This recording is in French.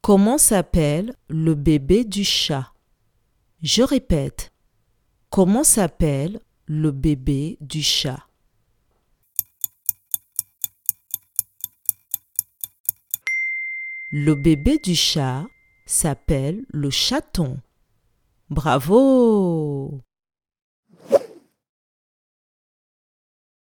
Comment s'appelle le bébé du chat? Je répète. Comment s'appelle le bébé du chat? Le bébé du chat s'appelle le chaton. Bravo!